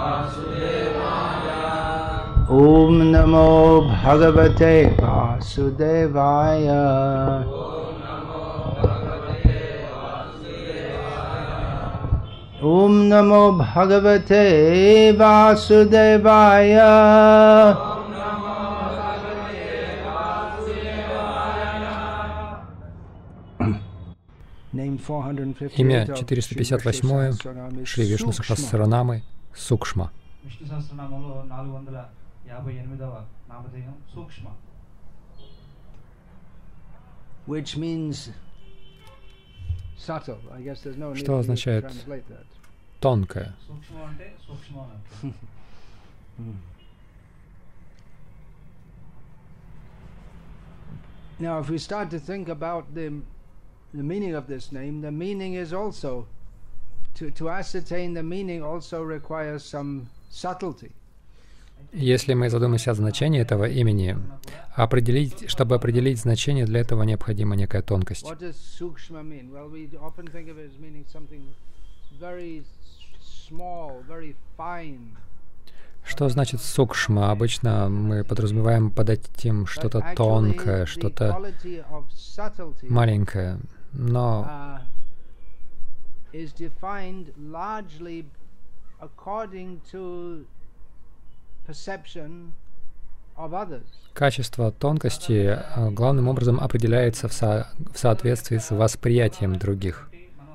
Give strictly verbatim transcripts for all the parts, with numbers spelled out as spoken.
Om Namo Bhagavate Vasudevaya. Om Namo Bhagavate Vasudevaya. Имя четыреста пятьдесят восемь Шри Вишну Сахасранамы Сукшма. Что означает тонкое? Now, if we start to think about the the meaning of this name, the meaning is also to to ascertain the meaning also requires some subtlety. Если мы задумаемся о значении этого имени, определить, чтобы определить значение, для этого необходима некая тонкость. What does sukshma mean? Well, we often think of it as meaning something very small, very fine. Что значит сукшма? Обычно мы подразумеваем под этим что-то тонкое, что-то маленькое, но качество тонкости главным образом определяется в, со в соответствии с восприятием других.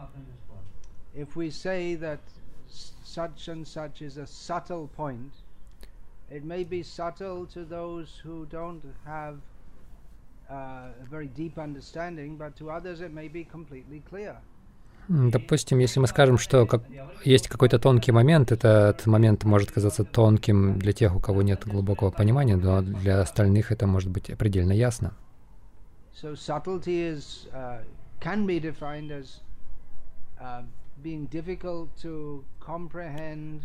Such and such is a subtle point. It may be subtle to those who don't have uh, a very deep understanding, but to others it may be completely clear. Допустим, если мы скажем, что как, есть какой-то тонкий момент, этот момент может казаться тонким для тех, у кого нет глубокого понимания, но для остальных это может быть предельно ясно. So subtlety is, uh, can be defined as uh, being difficult to comprehend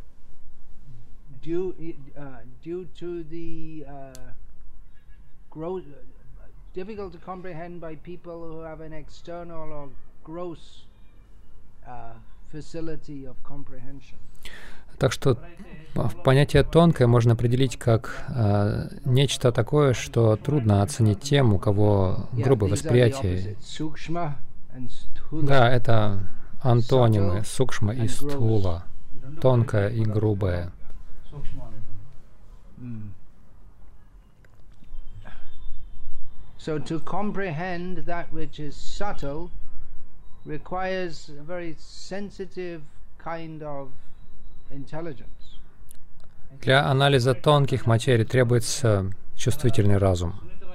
due uh, due to the uh, gross, difficult to comprehend by people who have an external or gross uh, facility of comprehension. Так что понятие «тонкое» можно определить как э, нечто такое, что трудно оценить тем, у кого грубое восприятие. Да, это антонимы сукшма и стхула, тонкое и грубое. So to comprehend that which is subtle requires a very sensitive kind of intelligence. Для анализа тонких материй требуется чувствительный разум.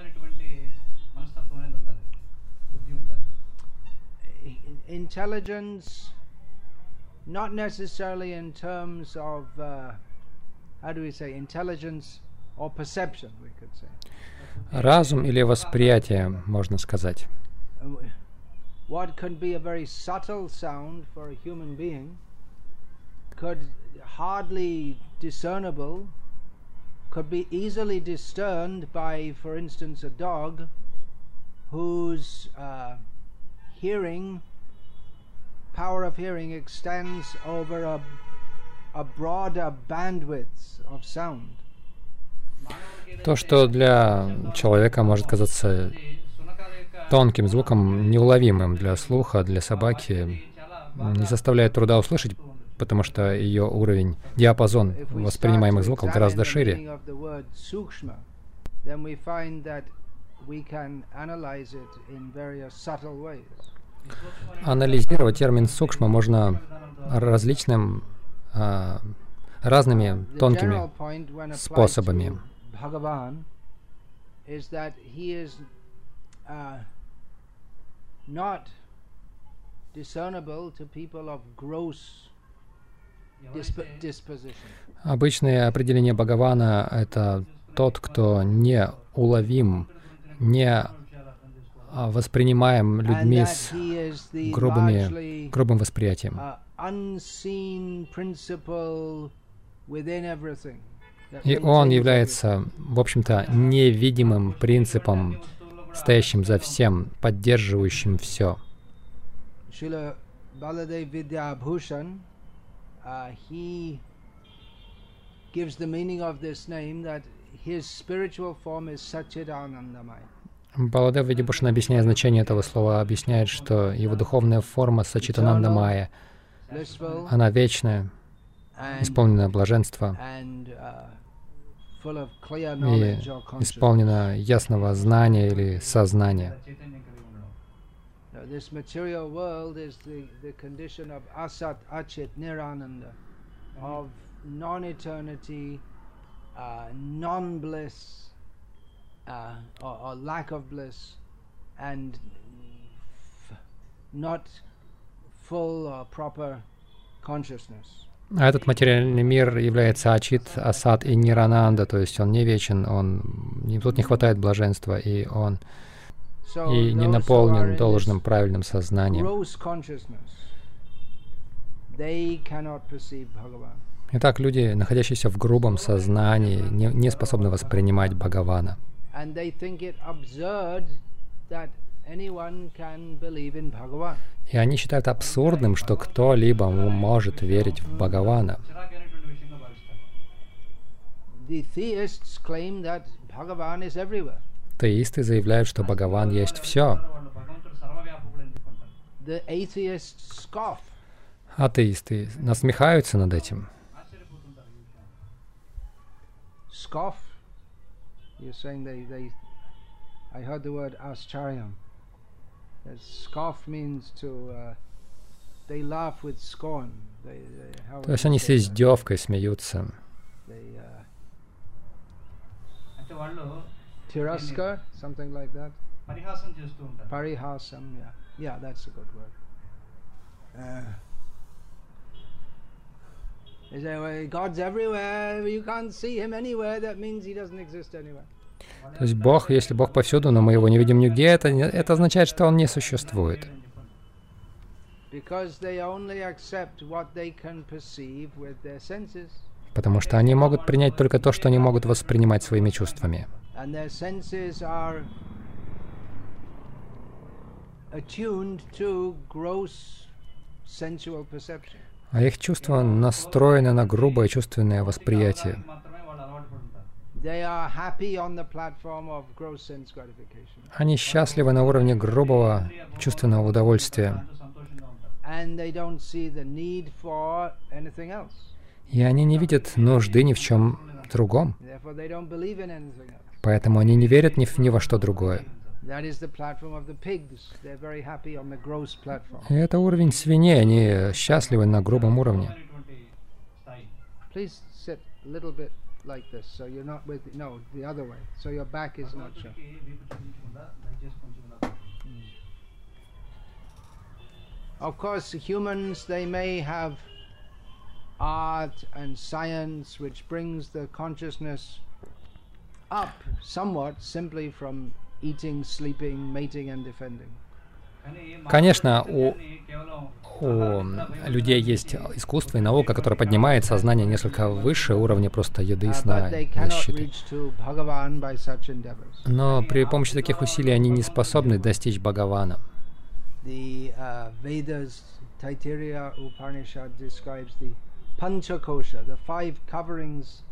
Intelligence, not necessarily in terms of, uh, how do we say, intelligence or perception, we could say. Разум или восприятие, можно сказать. What could be a very subtle sound for a human being could hardly discernible, could be easily discerned by, for instance, a dog whose uh, hearing power of hearing extends over a, a broader bandwidth of sound. То, что для человека может казаться тонким звуком, неуловимым для слуха, для собаки, не составляет труда услышать, потому что ее уровень, диапазон воспринимаемых звуков гораздо шире. Анализировать термин сукшма можно различным, а, разными тонкими способами. Обычное определение Бхагавана — это тот, кто не уловим, не воспринимаем людьми с грубыми, грубым восприятием. И он является, в общем-то, невидимым принципом, стоящим за всем, поддерживающим все. gives the meaning of this name that his spiritual form is Satchidanandamaya. Баладев Видибушан, объясняя значение этого слова, объясняет, что его духовная форма Сачитананда Майя, она вечная, исполнена блаженства и исполнена ясного знания или сознания. This material world is the, the condition of asat, achit, nirananda, of non-eternity, uh, non-bliss, uh, or, or lack of bliss, and f not full or proper consciousness. А этот материальный мир является ачит, асат и нирананда, то есть он не вечен, он, тут не хватает блаженства, и он и не наполнен должным правильным сознанием. Итак, люди, находящиеся в грубом сознании, не, не способны воспринимать Бхагавана. И они считают абсурдным, что кто-либо может верить в Бхагавана. Теисты заявляют, что Бхагаван есть все. Атеисты насмехаются над этим. То есть они с издевкой смеются. Tiraskar, something like that. Parihasam, yeah. Yeah, that's a good word. Uh, they say, well, God's everywhere, you can't see him anywhere, that means he doesn't exist anywhere. То есть Бог, если Бог повсюду, но мы его не видим нигде, это, это означает, что он не существует. Because they only accept what they can perceive with their senses. Потому что они могут принять только то, что они могут воспринимать своими чувствами. А их чувства настроены на грубое чувственное восприятие. Они счастливы на уровне грубого чувственного удовольствия. И они не видят нужды ни в чем другом. Поэтому они не верят ни, в, ни во что другое. И это уровень свиней, они счастливы на грубом уровне. Of course, humans, they may have art and science which brings the consciousness up somewhat simply from eating, sleeping, mating and defending. Конечно, у, у людей есть искусство и наука, которая поднимает сознание несколько выше уровня просто еды, сна и защиты. Но при помощи таких усилий они не способны достичь Бхагавана. Taittiriya Upanishad describes the Panchakosha, the five coverings.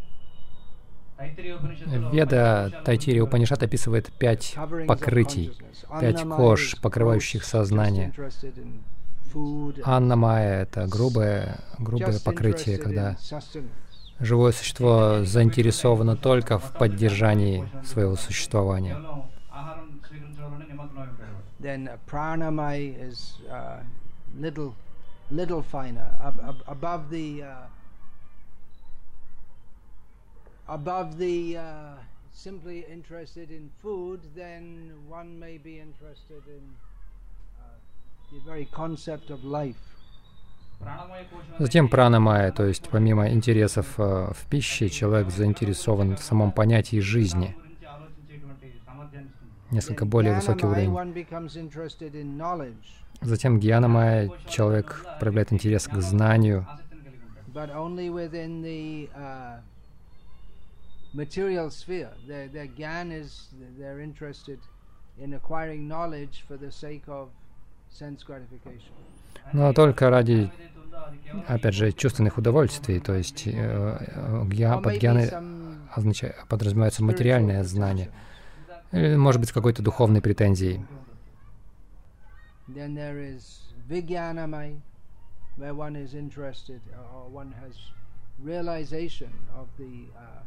Веда Тайтирия Упанишад описывает пять покрытий, пять кож, покрывающих сознание. Анна Майя — это грубое, грубое покрытие, когда живое существо заинтересовано только в поддержании своего существования. Then pranamaya is uh, little, little finer, ab ab above the, uh, above the uh, simply interested in food. Then one may be interested in uh, the very concept of life. Затем пранамая, то есть помимо интересов uh, в пище, человек заинтересован в самом понятии жизни. Несколько более высокий уровень. Затем гьянамая, человек проявляет интерес к знанию. Но только ради опять же, чувственных удовольствий, то есть э, гья, под гьяной означает, подразумевается материальное знание, или, может быть, с какой-то духовной претензией. Where one is interested or one has realization of the uh,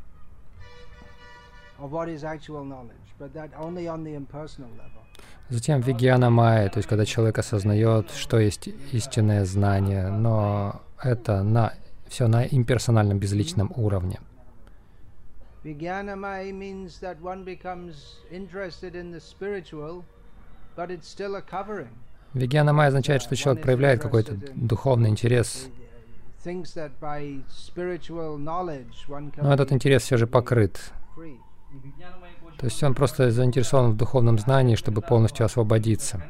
of what is actual knowledge, but that only on the impersonal level. Затем вигьяна майя, то есть когда человек осознает, что есть истинное знание, но это на, все на имперсональном безличном уровне. Vijnana maya means that one becomes interested in the spiritual, but it's still a covering. Вигьяна майя означает, что человек проявляет какой-то духовный интерес, но этот интерес все же покрыт. То есть он просто заинтересован в духовном знании, чтобы полностью освободиться.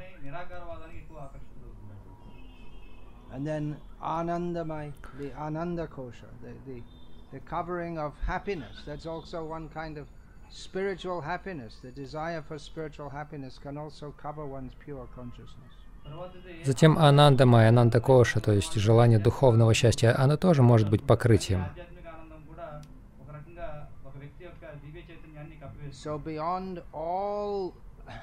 Spiritual happiness, the desire for spiritual happiness can also cover one's pure consciousness. Затем ананда майя, ананда коша, то есть желание духовного счастья, оно тоже может быть покрытием. So beyond all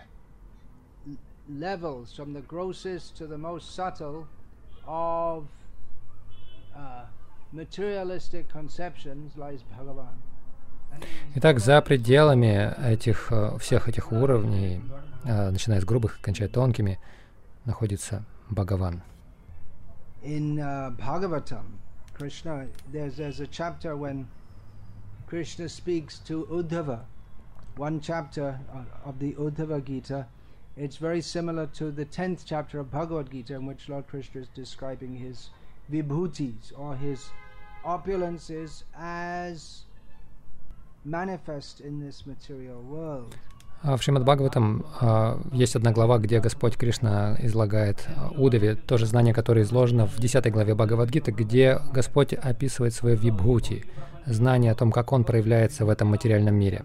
levels, from the grossest to the most subtle of uh, materialistic conceptions, lies Bhagavan. Итак, за пределами этих, всех этих уровней, начиная с грубых и кончая тонкими, находится Бхагаван. In uh, Bhagavatam, Krishna, there's, there's a chapter when Krishna speaks to Uddhava. One chapter of the Uddhava Gita. It's very similar to the tenth chapter of Bhagavad Gita, in which Lord Krishna is describing his vibhutis, or his opulences, as manifest in this material world. В Шримад Бхагаватам есть одна глава, где Господь Кришна излагает Удаве то же знание, которое изложено в десятой главе Бхагавад-гиты, где Господь описывает свои вибхути, знание о том, как Он проявляется в этом материальном мире.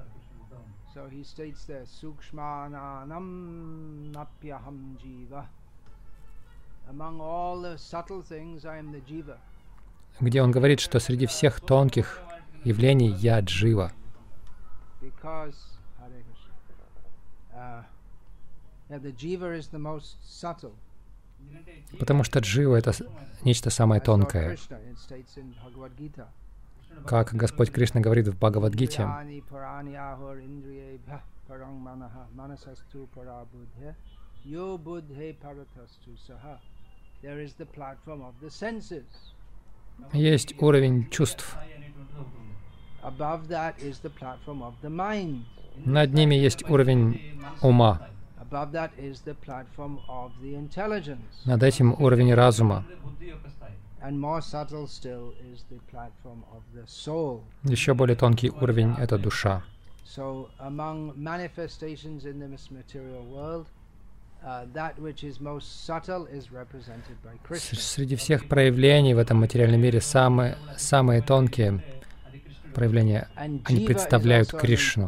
Где Он говорит, что среди всех тонких явлений я джива. Потому что джива — это нечто самое тонкое. Как Господь Кришна говорит в Бхагавад-гите, есть уровень чувств. Над ними есть уровень ума. Над этим уровень разума. Еще более тонкий уровень — это душа. Среди всех проявлений в этом материальном мире самые, самые тонкие проявления, они представляют Кришну.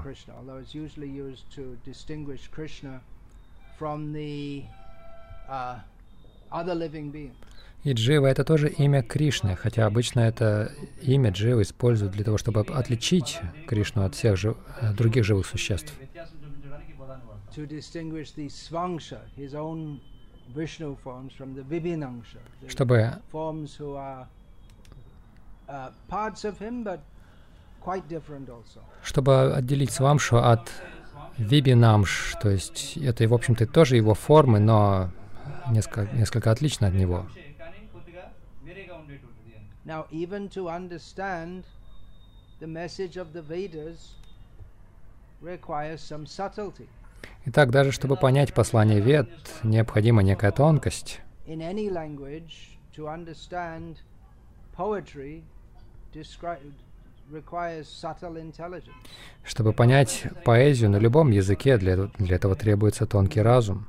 И Джива — это тоже имя Кришны, хотя обычно это имя Джива используют для того, чтобы отличить Кришну от всех жив... других живых существ. Чтобы чтобы отделить Свамшу от Вибинамш, то есть это, в общем-то, тоже его формы, но несколько, несколько отлично от него. Итак, даже чтобы понять послание Вед, необходима некая тонкость. Чтобы понять поэзию на любом языке, для, для этого требуется тонкий разум.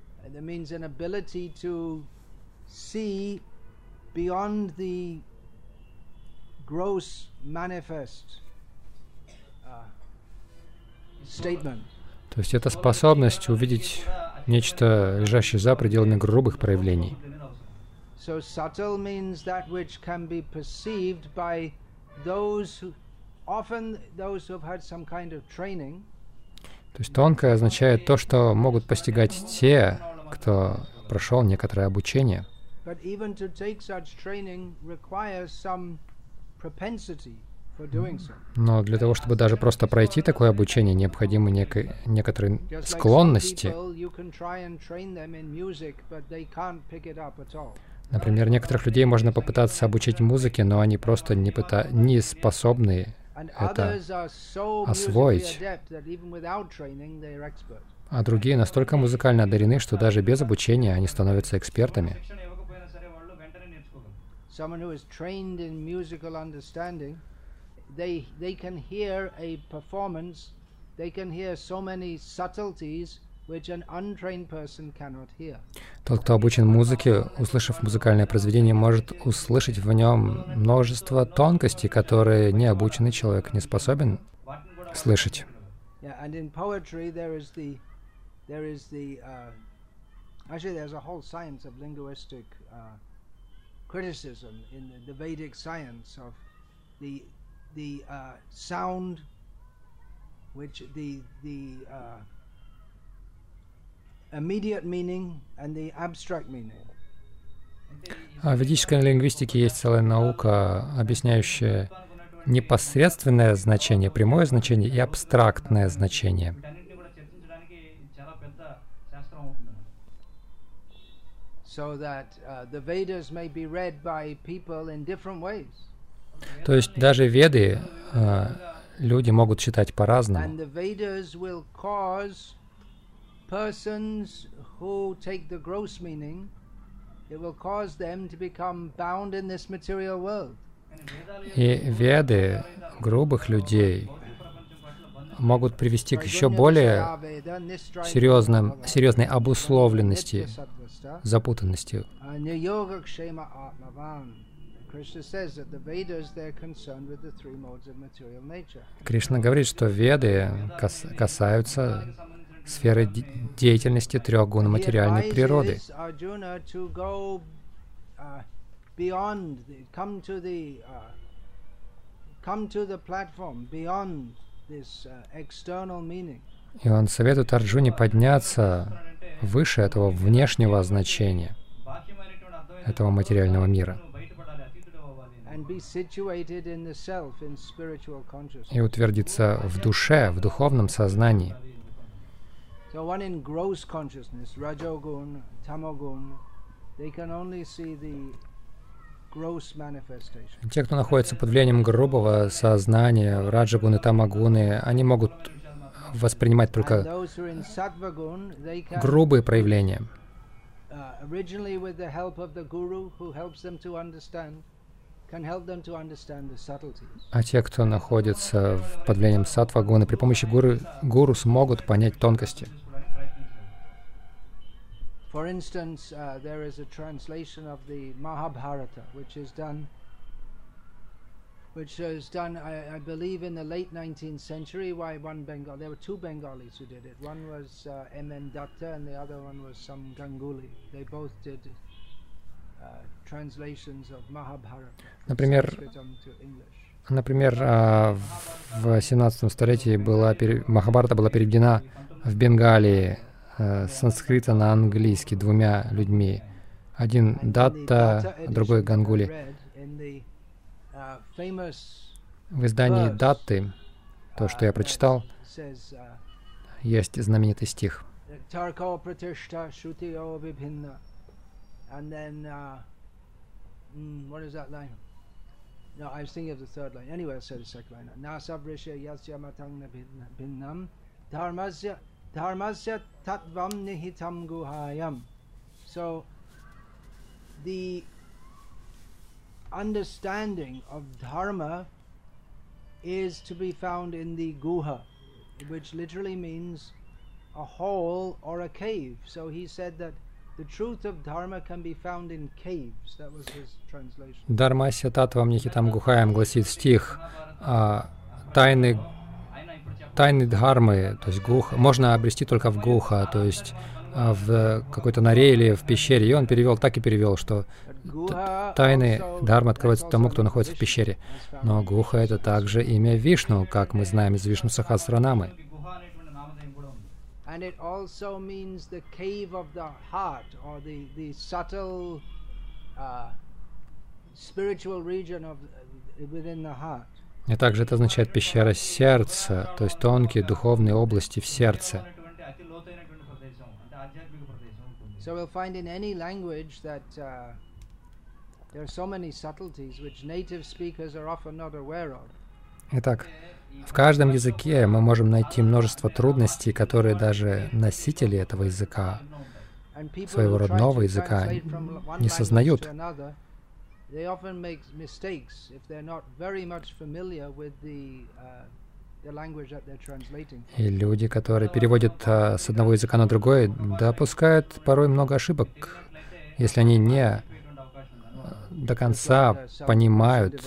То есть это способность увидеть нечто, лежащее за пределами грубых проявлений. So subtle means that which can be perceived by those who, often those who have had some kind of training. То есть тонкое означает то, что могут постигать те, кто прошел некоторое обучение. But even to take such training requires some propensity for doing so. Но для того, чтобы даже просто пройти такое обучение, необходимы неко- некоторые склонности. Например, некоторых людей можно попытаться обучить музыке, но они просто не, пыта... не способны это освоить. А другие настолько музыкально одарены, что даже без обучения они становятся экспертами. They, they can hear a performance, they can hear so many subtleties which an untrained person cannot hear. Тот, кто обучен музыке, услышав музыкальное произведение, может услышать в нем множество тонкостей, которые необученный человек не способен слышать. Yeah, and in poetry there is the, there is the, uh, actually there's a whole science of linguistic uh, criticism in the, the Vedic science of the the uh, sound, which the the uh, immediate meaning and the abstract meaning. В ведической лингвистике есть целая наука, объясняющая непосредственное значение, прямое значение и абстрактное значение. So that uh, the Vedas may be read by people in different ways. То есть даже Веды э, люди могут читать по-разному. И Веды грубых людей могут привести к еще более серьезным, серьезной обусловленности, запутанности. Кришна говорит, что Веды кас касаются сферы де деятельности трех гун материальной природы. И он советует Арджуне подняться выше этого внешнего значения, этого материального мира, и утвердиться в душе, в духовном сознании. Те, кто находится под влиянием грубого сознания, раджагуны, тамагуны, они могут воспринимать только грубые проявления. А те, кто находится под влиянием саттва-гуны, при помощи гуру, гуру смогут понять тонкости. For instance, uh, there is a translation of the Mahabharata, which is done, which is done, I, I believe, in the late nineteenth century by one Bengal. There were two Bengalis who did it. One was uh, M N Datta, and the other one was some Ganguly. They both did uh, translations of Mahabharata. Например, например, в семнадцатом столетии была Махабхарата была переведена в Бенгалии с санскрита на английский двумя людьми. Один Датта, другой Гангули. В издании Датты, то, что я прочитал, есть знаменитый стих. No, I was thinking of the third line. Anyway, I'll say the second line. Nasavrisha yasya matang bhinnam dharmasya dharmasya tattvam nihitam guhayam. So, the understanding of dharma is to be found in the guha, which literally means a hole or a cave. So he said that the truth of dharma can be found in caves. That was his translation. Дharmasya tattvam nihitam guhayam гласит стих. А, тайны, тайны дхармы, то есть гуха, можно обрести только в гуха, то есть в какой-то норе или в пещере. И он перевел, так и перевел, что тайны Дхармы открываются тому, кто находится в пещере. Но Гуха — это также имя Вишну, как мы знаем из Вишну Сахасранамы. И также это означает пещера сердца, то есть тонкие духовные области в сердце. So we'll find in any language that uh, there are so many subtleties which native speakers are often not aware of. Итак, в каждом языке мы можем найти множество трудностей, которые даже носители этого языка, своего родного языка, не сознают. И люди, которые переводят а, с одного языка на другой, допускают порой много ошибок, если они не а, до конца понимают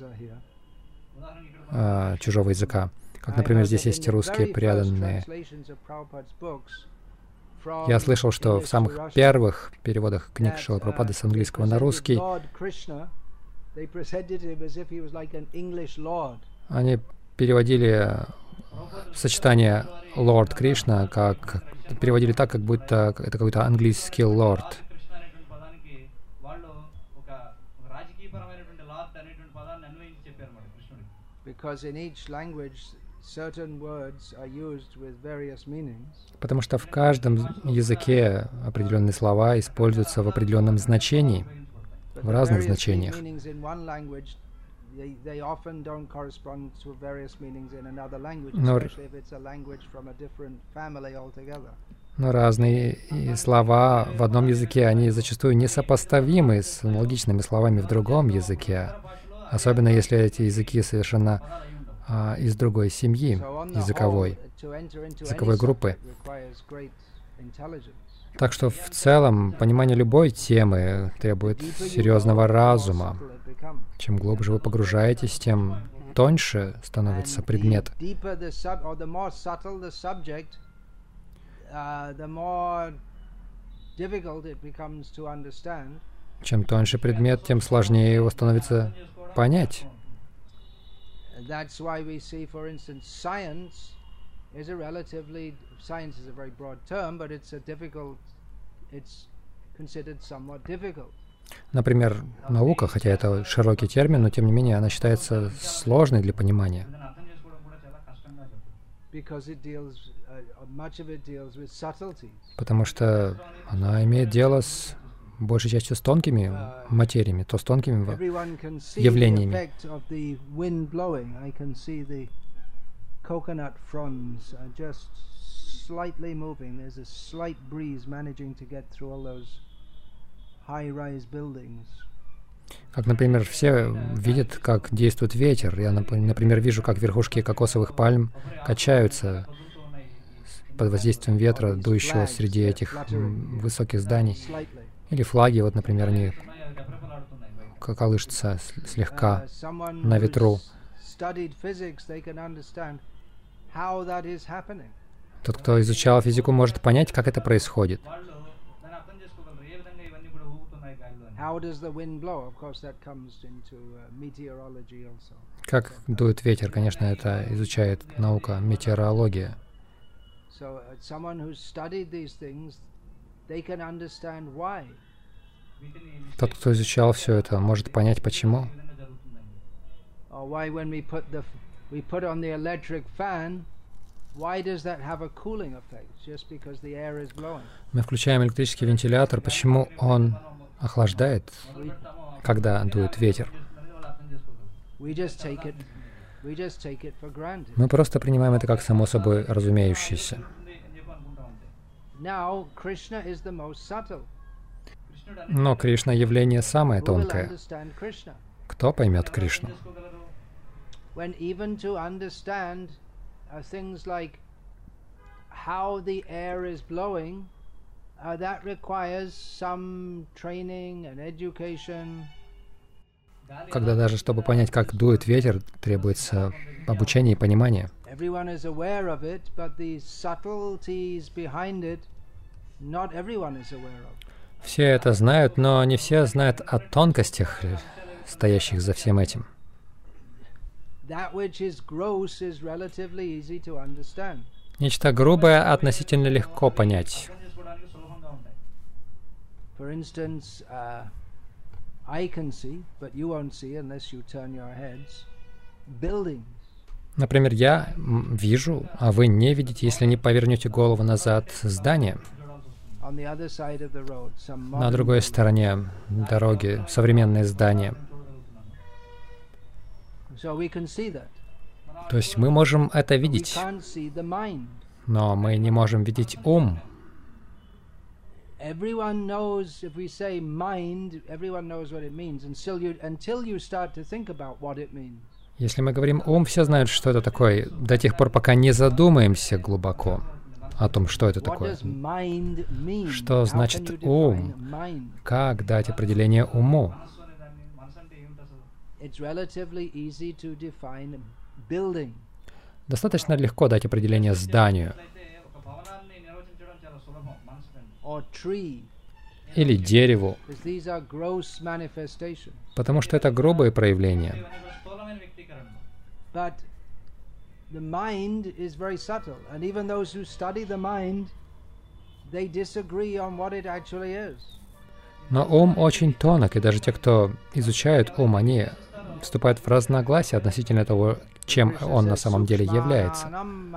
а, чужого языка. Как, например, здесь есть русские преданные. Я слышал, что в самых первых переводах книг Шрилы Прабхупады с английского на русский они переводили сочетание Лорд Кришна, как переводили так, как будто это какой-то английский лорд. Потому что в каждом языке определенные слова используются в определенном значении, в разных значениях. Но, но разные слова в одном языке, они зачастую несопоставимы с аналогичными словами в другом языке, особенно если эти языки совершенно а, из другой семьи, языковой, языковой группы. Так что в целом понимание любой темы требует серьезного разума. Чем глубже вы погружаетесь, тем тоньше становится предмет. Чем тоньше предмет, тем сложнее его становится понять. Is a relatively, science is a very broad term, but it's a difficult, it's considered somewhat difficult. Например, наука, хотя это широкий термин, но тем не менее она считается сложной для понимания. Потому что она имеет дело с большей частью с тонкими материями, то с тонкими явлениями. Coconut fronds are just slightly moving. There's a slight breeze managing to get through all those high-rise buildings. Как, например, все видят, как действует ветер. Я, например, вижу, как верхушки кокосовых пальм качаются под воздействием ветра, дующего среди этих высоких зданий. Или флаги, вот, например, они колышутся слегка на ветру. Тот, кто изучал физику, может понять, как это происходит. Как дует ветер, конечно, это изучает наука, метеорология. Тот, кто изучал все это, может понять, почему. We put on the electric fan, why does that have a cooling effect? Just because the air is blowing. Мы включаем электрический вентилятор, почему он охлаждает, когда дует ветер? We just take it, we just take it for granted. Мы просто принимаем это как само собой разумеющееся. Now, Krishna is the most subtle. Но Кришна — явление самое тонкое. Кто поймет Кришну? When even to understand uh, things like how the air is blowing, uh, that requires some training and education. Когда даже чтобы понять, как дует ветер, требуется обучение и понимание. Everyone is aware of it, but the subtleties behind it not everyone is aware of. Все это знают, но не все знают о тонкостях, стоящих за всем этим. That which is gross is relatively easy to understand. Нечто грубое относительно легко понять. For instance, uh, I can see, but you won't see unless you turn your heads, buildings. Например, я вижу, а вы не видите, если не повернете голову назад, здание. On the other side of the road, some На modern другой стороне дороги современные здания. So we can see that. То есть мы можем это We видеть, can't see the mind. но мы не можем видеть ум. Everyone knows, if we say mind, everyone knows what it means until you, until you start to think about what it means. Если мы говорим ум, все знают, что это такое, до тех пор, пока не задумаемся глубоко о том, что это What такое. does mind mean? Что How значит can you ум? define mind? Как дать определение уму? It's relatively easy to define building. Достаточно легко дать определение зданию Or tree, или дереву, because these are gross manifestations. потому что это грубые проявления. But the mind is very subtle, and even those who study the mind, they disagree on what it actually is. Но ум очень тонок, и даже те, кто изучают ум, они вступают в разногласия относительно того, чем он на самом деле является.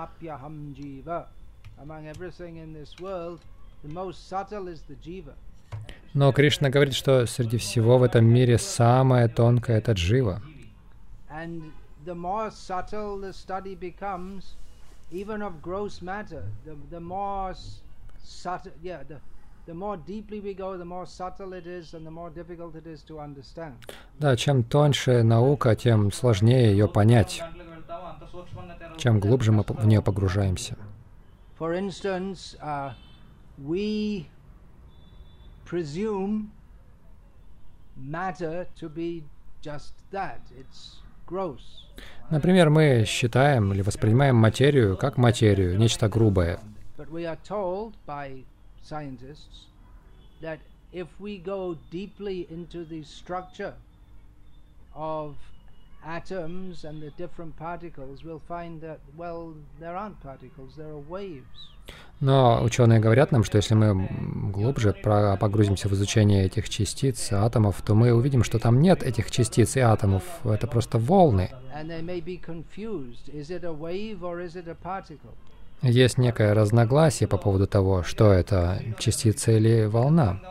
Among everything in this world, the most subtle is the jiva. Но Кришна говорит, что среди всего в этом мире самое тонкое — это джива. And the more subtle the study becomes, even of gross matter, the, the more s- subtle, yeah, the, the more deeply we go, the more subtle it is and the more difficult it is to understand. Да, чем тоньше наука, тем сложнее ее понять, чем глубже мы в нее погружаемся. For instance, uh, we presume matter to be just that. It's gross. Например, мы считаем или воспринимаем материю как материю, нечто грубое. But we are told by scientists that if we go deeply into the structure of atoms and the different particles, we'll find that, well, there aren't particles, there are waves. Но ученые говорят нам, что если мы глубже про- погрузимся в изучение этих частиц, атомов, то мы увидим, что там нет этих частиц и атомов, это просто волны. And they may be confused. Is it a wave or is it a particle? Есть некое разногласие по поводу того, что это, частица или волна.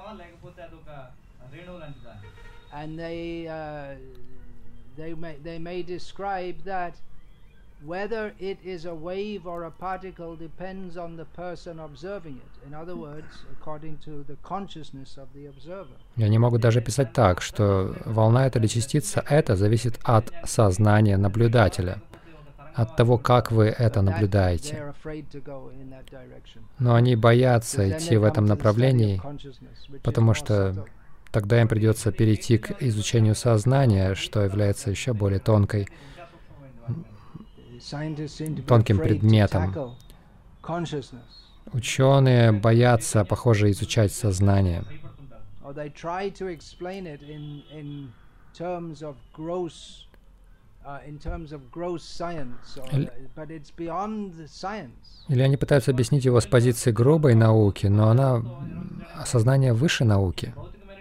And they uh, they may they may describe that whether it is a wave or a particle depends on the person observing it. In other words, according to the consciousness of the observer. И они могут даже писать так, что волна это или частица, это зависит от сознания наблюдателя, от того, как вы это That наблюдаете. they're afraid to go in that direction. Но они боятся Because then идти they в этом come to the study of направлении, consciousness, which is потому more что subtle. тогда им придется перейти к изучению сознания, что является еще более тонкой, Scientists seem to be тонким afraid to предметом. tackle consciousness. Ученые боятся, похоже, изучать сознание. Or they try to explain it in in terms of gross, uh, in terms of gross science, or, Л- but it's beyond the science. Или они пытаются объяснить его с позиции грубой науки, но она сознание выше науки.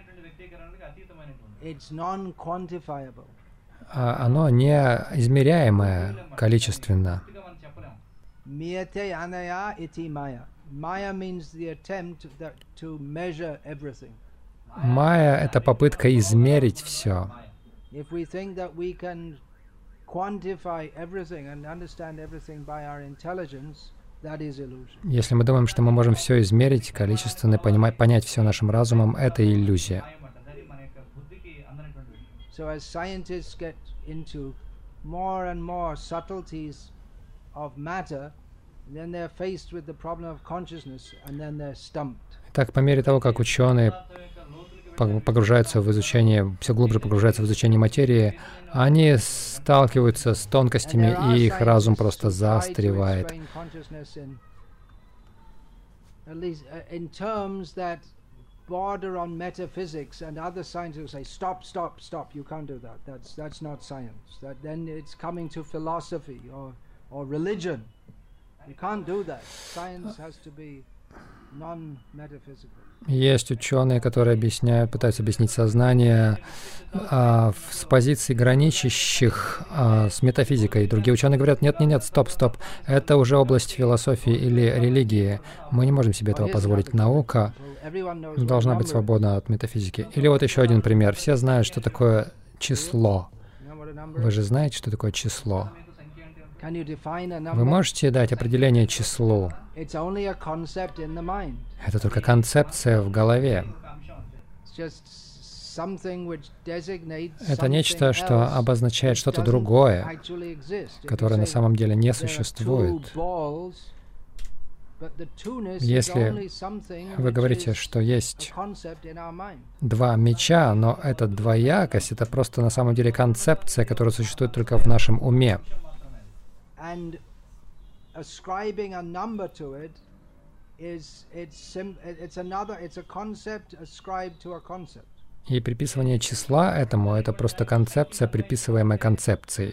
It's non-quantifiable. А оно не измеряемое количественно. Miyate anaya iti maya. Maya means the attempt that to measure everything. Майя — это попытка измерить все. If we think that we can quantify everything and understand everything by our intelligence, that is illusion. Если мы думаем, что мы можем все измерить, количественно понимать, понять все нашим разумом, это иллюзия. So as scientists get into more and more subtleties of matter, then they're faced with the problem of consciousness, and then they're stumped. Так, по мере того, как ученые пог- погружаются в изучение, все глубже погружаются в изучение материи, они сталкиваются с And тонкостями, there are и их разум scientists просто who try to заостревает. explain consciousness in at least in terms that border on metaphysics, and other scientists will say, stop, stop, stop, you can't do that. That's that's not science. That then it's coming to philosophy or or religion. You can't do that. Science has to be non-metaphysical. Есть ученые, которые объясняют, пытаются объяснить сознание а, с позиций граничащих а, с метафизикой. И другие ученые говорят, нет, нет, нет, стоп, стоп, это уже область философии или религии. Мы не можем себе этого позволить. Наука должна быть свободна от метафизики. Или вот еще один пример. Все знают, что такое число. Вы же знаете, что такое число? Вы можете дать определение числу? Это только концепция в голове. Это нечто, что обозначает что-то другое, которое на самом деле не существует. Если вы говорите, что есть два меча, но эта двоякость — это просто на самом деле концепция, которая существует только в нашем уме. And ascribing a number to it is it's sim it's another it's a concept ascribed to a concept. И приписывание числа этому — это просто концепция, приписываемая концепции.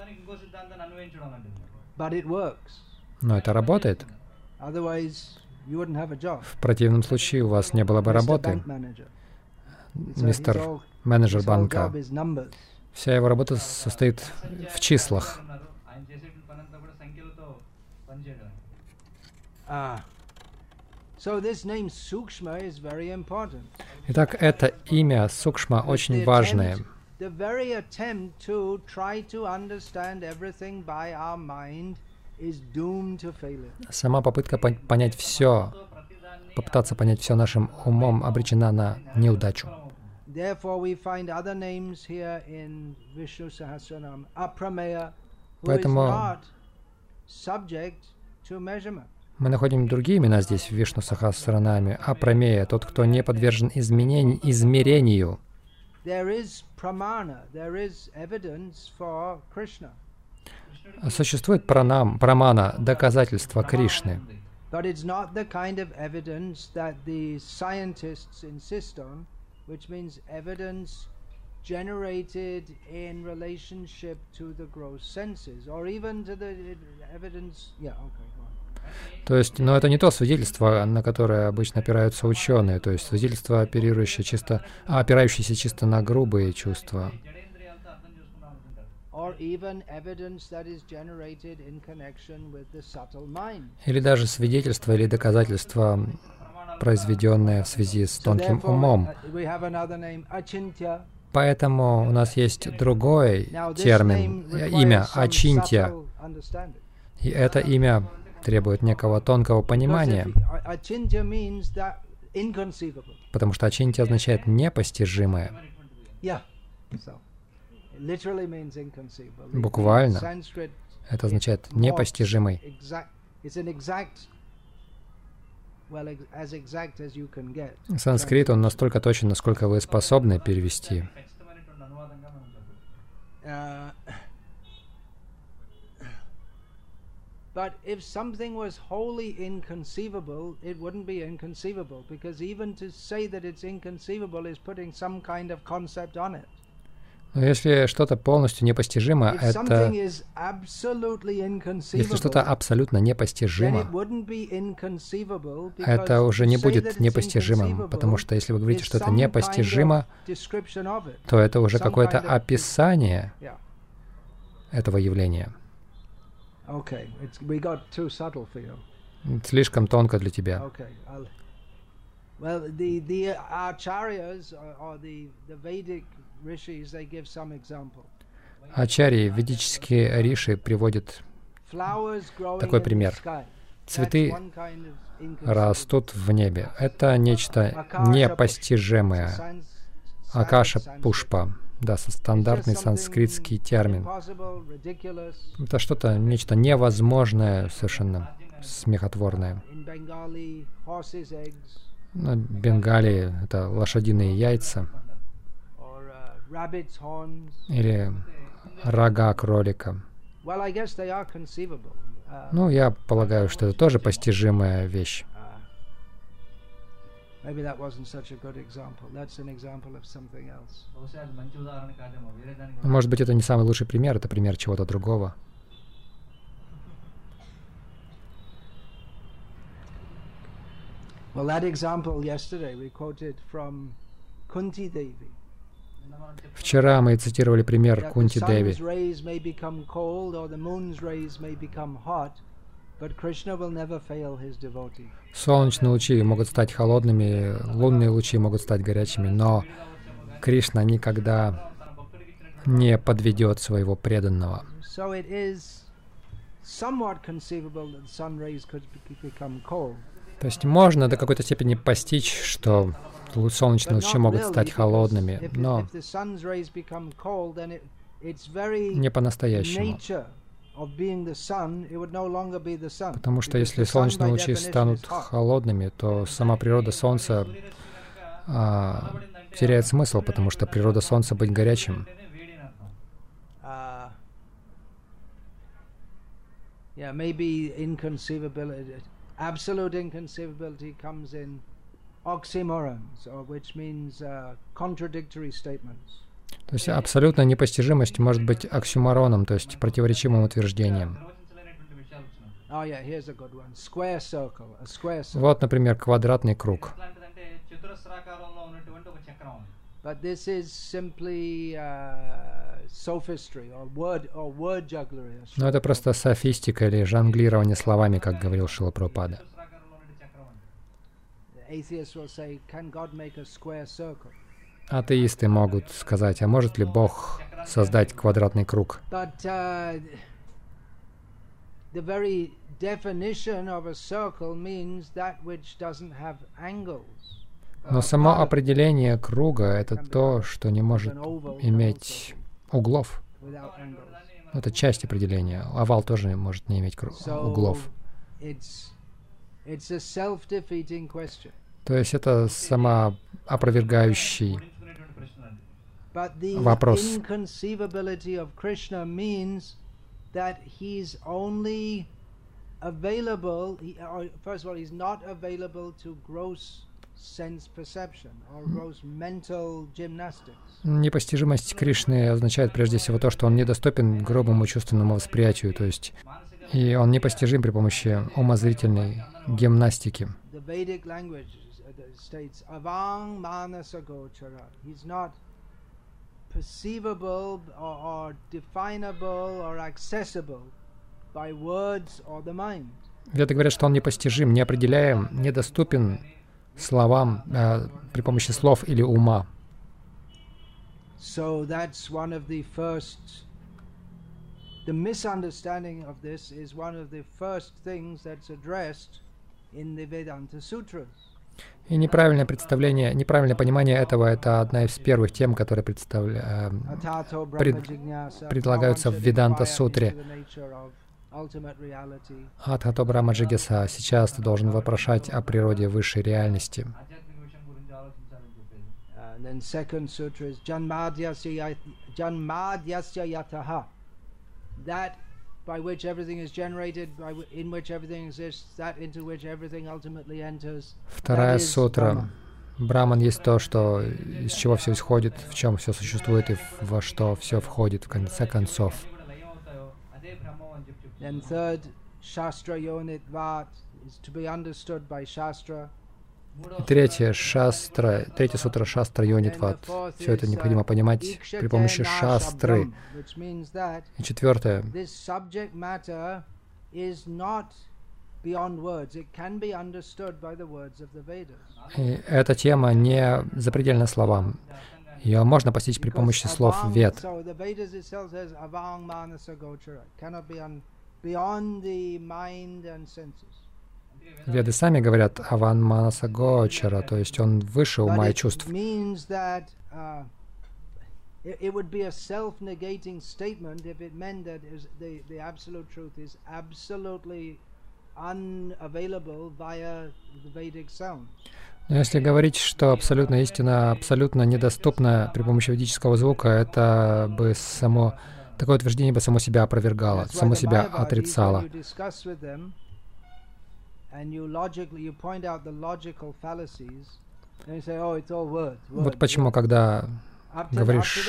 But it works. Но это работает. Otherwise, you wouldn't have a job. В противном случае у вас не было бы работы. Мистер менеджер банка. Вся его работа состоит в числах. Итак, это имя Сукшма очень важное. Сама попытка понять все, попытаться понять все нашим умом обречена на неудачу. Поэтому мы находим другие имена здесь, в Вишну Сахасранаме. Апрамея, тот, кто не подвержен изменению, измерению. Существует пранам, прамана, доказательство Кришны. Generated in relationship to the gross senses, or even to the evidence. Yeah, okay, go on. То есть, но это не то свидетельство, на которое обычно опираются ученые, то есть свидетельство, оперирующее чисто, а, опирающееся чисто на грубые чувства. Или даже свидетельство или доказательство, произведенное в связи с тонким умом. Поэтому у нас есть другой термин, имя Ачинтья. И это имя требует некого тонкого понимания, потому что Ачинтья означает «непостижимое». Буквально это означает «непостижимый». Санскрит, он настолько точен, насколько вы способны перевести. But if something was wholly inconceivable, it wouldn't be inconceivable, because even to say that it's inconceivable is putting some kind of concept on it. Но если что-то полностью непостижимо, это... Если что-то абсолютно непостижимо, это уже не будет непостижимым, потому что если вы говорите, что это непостижимо, то это уже какое-то описание этого явления. Слишком тонко для тебя. Ачарьи, ведические риши приводят такой пример. Цветы растут в небе. Это нечто непостижимое. Акаша пушпа. Да, стандартный санскритский термин. Это что-то, нечто невозможное, совершенно смехотворное. На Бенгалии это лошадиные яйца. Или рога кролика. Ну, я полагаю, что это тоже постижимая вещь. Maybe that wasn't such a good example. That's an example of something else. Может быть, это не самый лучший пример, это пример чего-то другого. Well, that example yesterday we quoted from Kunti Devi. Вчера мы цитировали пример Кунти Деви. Солнечные лучи могут стать холодными, лунные лучи могут стать горячими, но Кришна никогда не подведет своего преданного. То есть можно до какой-то степени постичь, что солнечные лучи могут стать холодными, но не по-настоящему. Потому что если солнечные лучи станут холодными, то сама природа Солнца а, теряет смысл, потому что природа Солнца быть горячим. Absolute inconceivability comes in oxymorons, or which means uh, contradictory statements. То есть абсолютная непостижимость может быть оксюмороном, то есть противоречивым утверждением. Oh, yeah, here's a good one. Square circle, a square circle. Вот, например, квадратный круг. But this is simply uh, sophistry or word or word jugglery. Но это просто софистика или жонглирование словами, как говорил Шрила Прабхупада. Атеисты могут сказать, а может ли Бог создать квадратный круг? But uh, the very definition of a circle means that which doesn't have angles. Но само определение круга — это то, что не может иметь углов. Это часть определения. Овал тоже может не иметь углов. То есть это самоопровергающий вопрос. Непостижимость Кришны означает прежде всего то, что он недоступен грубому чувственному восприятию, то есть и он непостижим при помощи умозрительной гимнастики. Веды говорят, что он непостижим, неопределяем, недоступен словам э, при помощи слов или ума. So that's one of the first. The misunderstanding of this is one of the first things that's addressed in the Vedanta Sutras. И неправильное представление, неправильное понимание этого — это одна из первых тем, которые представля... пред... предлагаются в Веданта-сутре. Адхато Брахма Джигьяса. Сейчас ты должен вопрошать о природе высшей реальности. Вторая сутра. Браман есть то, что из чего все исходит, в чем все существует и во что все входит в конце концов. Then third, Shastra Yonitvat is to be understood by Shastra. И третье, шастра, третья сутра Шастра Йонитват. Все это необходимо понимать при помощи шастры. И четвертое. И эта тема не запредельна словам. Ее можно постичь при помощи слов Вед. Веды сами говорят «аван манаса гочара», то есть он выше ума и чувств. Но если говорить, что абсолютная истина абсолютно недоступна при помощи ведического звука, это бы само, такое утверждение бы само себя опровергало, само себя отрицало. Вот почему, когда говоришь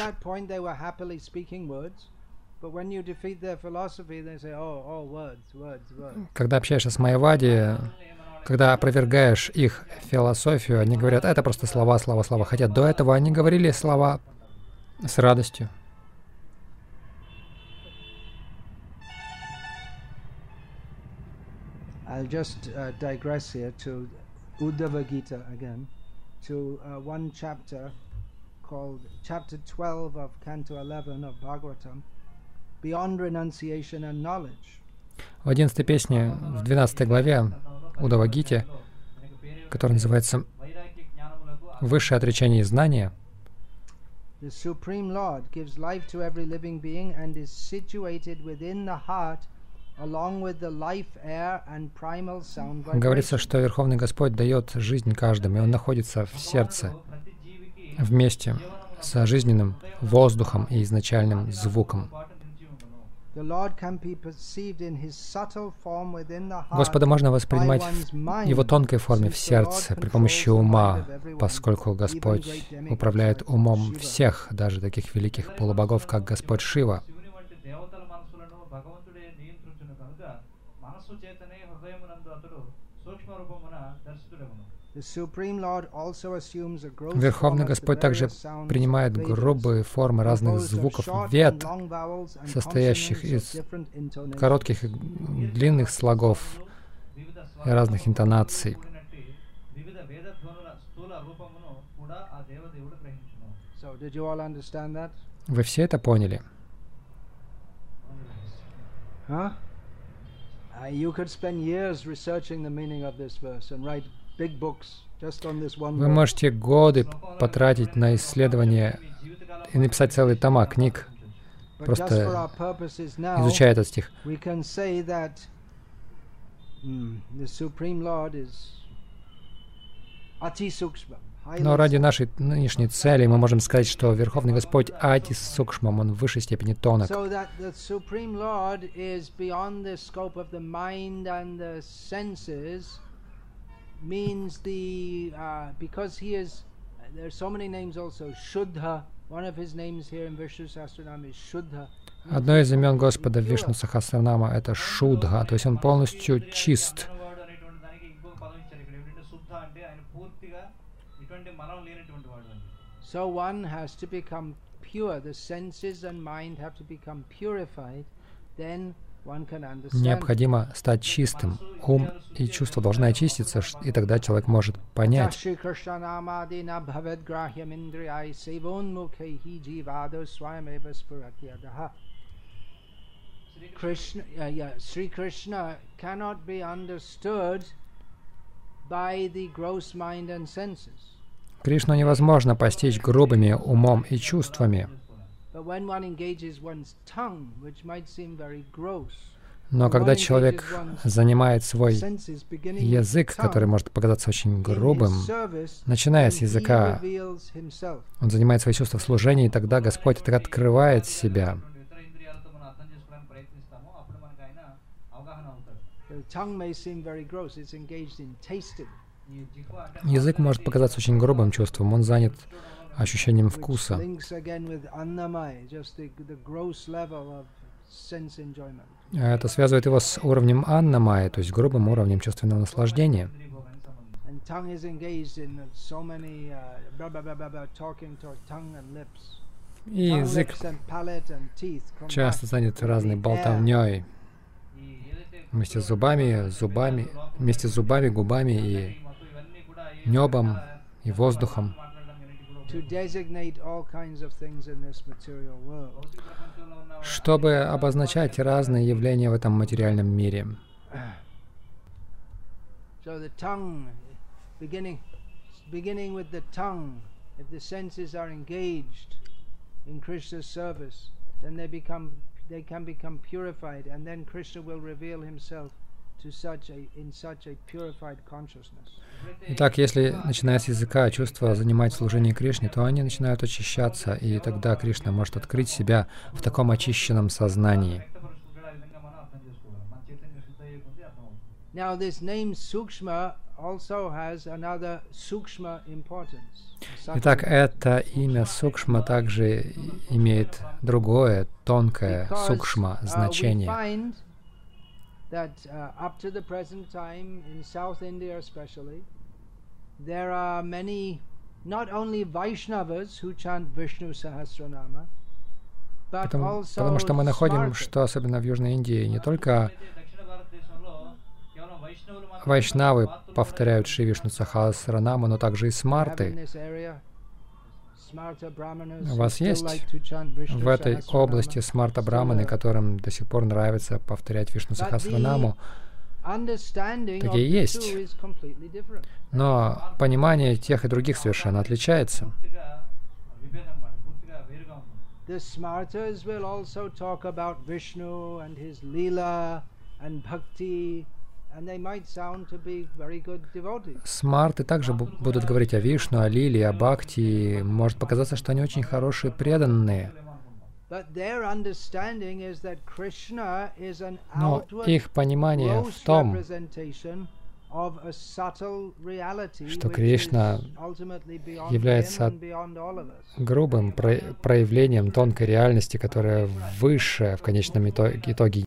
Когда общаешься с майявади, когда опровергаешь их философию, они говорят, это просто слова, слова, слова. Хотя до этого они говорили слова с радостью. I'll just uh, digress here to Uddhava Gita again, to uh, one chapter called chapter twelve of Canto eleven of Bhagavatam, Beyond Renunciation and Knowledge. В одиннадцатой песне, в двенадцатой главе Уддава Гите, которая называется «Высшее отречение и знание», The Supreme Lord gives life to every living being and is situated within the heart along with the life air and primal sound vibration. Говорится, что Верховный Господь дает жизнь каждому, и Он находится в сердце, вместе с жизненным воздухом и изначальным звуком. Господа можно воспринимать в Его тонкой форме в сердце при помощи ума, поскольку Господь управляет умом всех, даже таких великих полубогов, как Господь Шива. Верховный Господь также принимает грубые формы разных звуков вед, состоящих из коротких и длинных слогов и разных интонаций. Вы все это поняли? Вы можете годы потратить на исследование и написать целые тома книг, просто изучая этот стих. Но ради нашей нынешней цели мы можем сказать, что Верховный Господь Ати Сукшмам, Он в высшей степени тонок. Means the uh, because he is there are so many names also Shuddha. One of his names here in Vishnu Sahasranam is Shuddha. Одно из имен Господа в Вишну Сахасранама — это Шудха, то есть он полностью чист. So one has to become pure. The senses and mind have to become purified. Then Необходимо стать чистым. Ум и чувства должны очиститься, и тогда человек может понять. Шри Krishna cannot be understood by the gross mind and senses. Кришну невозможно постичь грубыми умом и чувствами. Но когда человек занимает свой язык, который может показаться очень грубым, начиная с языка, он занимает свои чувства в служении, и тогда Господь так открывает себя. Язык может показаться очень грубым чувством, он занят ощущением вкуса. Это связывает его с уровнем аннамайи, то есть грубым уровнем чувственного наслаждения. И язык часто занят разной болтовней. Вместе с зубами, зубами, вместе с зубами, губами и небом, и воздухом. Чтобы обозначать разные явления в этом материальном мире. They can become purified, and then Krishna will reveal himself to such a, in such a purified consciousness. Итак, если, начиная с языка, чувства занимать служение Кришне, то они начинают очищаться, и тогда Кришна может открыть себя в таком очищенном сознании. Now this name Sukshma also has another Sukshma importance. Итак, это имя Сукшма также имеет другое, тонкое, Сукшма значение. That uh, up to the present time in South India especially, there are many, not only Vaishnavas who chant Vishnu Sahasranama, but Потому, also потому что мы находим, Smartas. что особенно в Южной Индии, не только вайшнавы повторяют Шри Вишну Сахасранаму, но также и смарты. У вас есть в этой области смарта-браманы, которым до сих пор нравится повторять Вишну Сахасранаму? Такие есть. Но понимание тех и других совершенно отличается. The Smartas will also talk about Vishnu and his Leela and Bhakti, and they might sound to be very good devotees. Смарты также бу- будут говорить о Вишну, о Лиле, о Бхакти. Может показаться, что они очень хорошие преданные. But their understanding is that Krishna is an Но outward, их понимание в gross том, representation of a subtle reality что which Кришна is ultimately beyond является him and beyond all of us. грубым про- проявлением тонкой реальности, которая выше в конечном ито- итоге